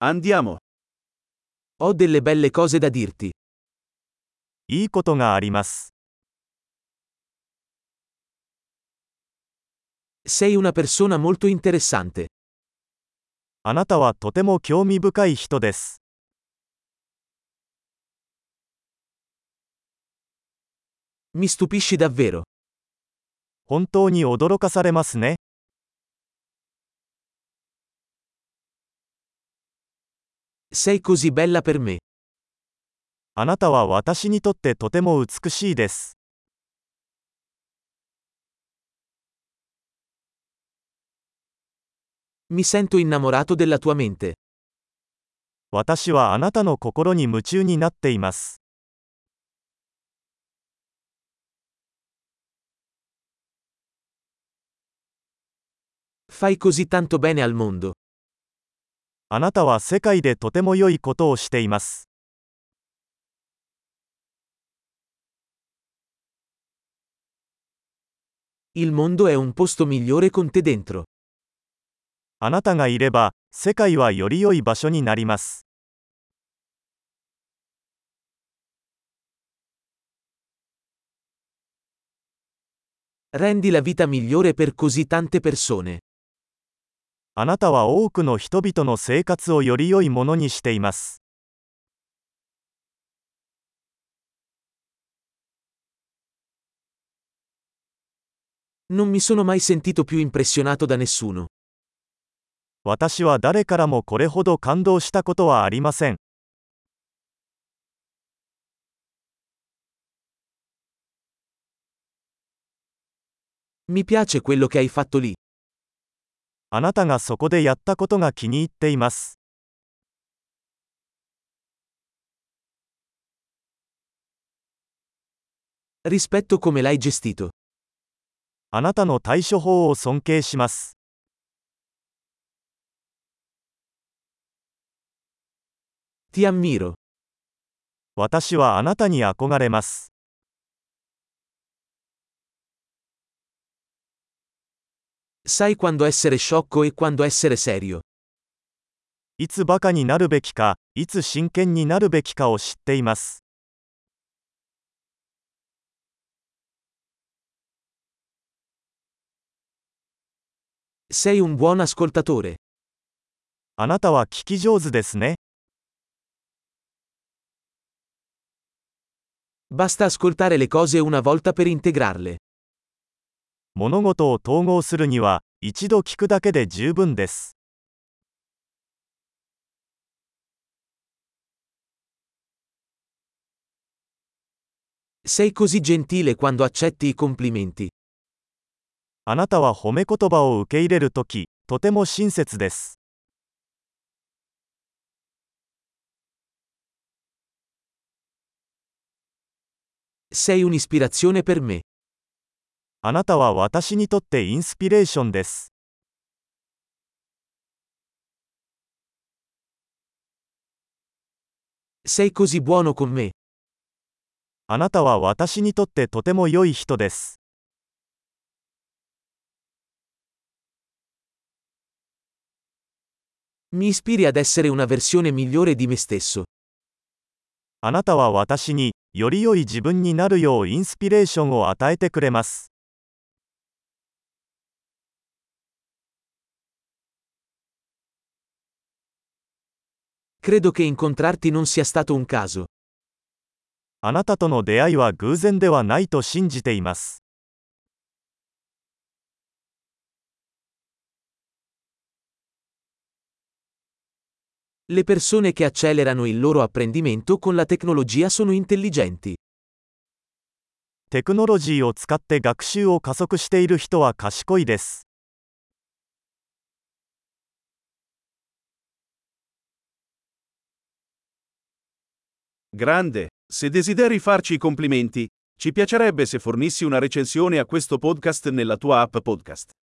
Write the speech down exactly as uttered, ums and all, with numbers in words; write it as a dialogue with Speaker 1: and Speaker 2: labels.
Speaker 1: Andiamo.
Speaker 2: Ho delle belle cose da dirti.
Speaker 3: いいことがあります。
Speaker 2: Sei una persona molto interessante.
Speaker 3: あなたはとても興味深い人です。
Speaker 2: Mi stupisci davvero.
Speaker 3: 本当に驚かされますね。
Speaker 2: Sei così bella per me.
Speaker 3: あなたは私にとってとても美しいです。
Speaker 2: Mi sento innamorato della tua mente.
Speaker 3: 私はあなたの心に夢中になっています。
Speaker 2: Fai così tanto bene al mondo.
Speaker 3: あなたは世界でとても良いことをしています。
Speaker 2: Il mondo è un posto migliore con te dentro.
Speaker 3: あなたがいれば、世界はより良い場所になります。
Speaker 2: Rendi la vita migliore per così tante persone.
Speaker 3: あなたは多くの人々の生活をより良いものにしています。
Speaker 2: Non mi sono mai sentito più impressionato da nessuno.
Speaker 3: 私は誰からもこれほど感動したことはありません。
Speaker 2: Mi piace quello che hai fatto lì.
Speaker 3: あなたがそこでやったことが気に入っています。
Speaker 2: Rispetto come l'hai gestito.
Speaker 3: あなたの対処法を尊敬します。
Speaker 2: Ti ammiro.
Speaker 3: 私はあなたに憧れます。
Speaker 2: Sai quando essere sciocco e quando essere serio.
Speaker 3: いつバカになるべきか、いつ真剣になるべきかを知っています。
Speaker 2: Sei un buon ascoltatore.
Speaker 3: あなたは聞き上手ですね。
Speaker 2: Basta ascoltare le cose una volta per integrarle.
Speaker 3: 物事を統合するには、一度聞くだけで十分です。
Speaker 2: Sei così gentile quando accetti i complimenti.
Speaker 3: あなたは褒め言葉を受け入れるとき、とても親切です。
Speaker 2: Sei un'ispirazione per me.
Speaker 3: あなたは私にとってインスピレーションです。
Speaker 2: Sei così buono con me.
Speaker 3: あなたは私にとってとても良い人です。
Speaker 2: Mi ispiri ad essere una versione migliore di me stesso.
Speaker 3: あなたは私に、より良い自分になるようインスピレーションを与えてくれます。
Speaker 2: Credo che incontrarti non sia stato un caso.
Speaker 3: あなたとの出会いは偶然ではないと信じています。
Speaker 2: Le persone che accelerano il loro apprendimento con la tecnologia sono intelligenti.
Speaker 3: テクノロジーを使って学習を加速している人は賢いです。
Speaker 1: Grande. Se desideri farci i complimenti, ci piacerebbe se fornissi una recensione a questo podcast nella tua app podcast.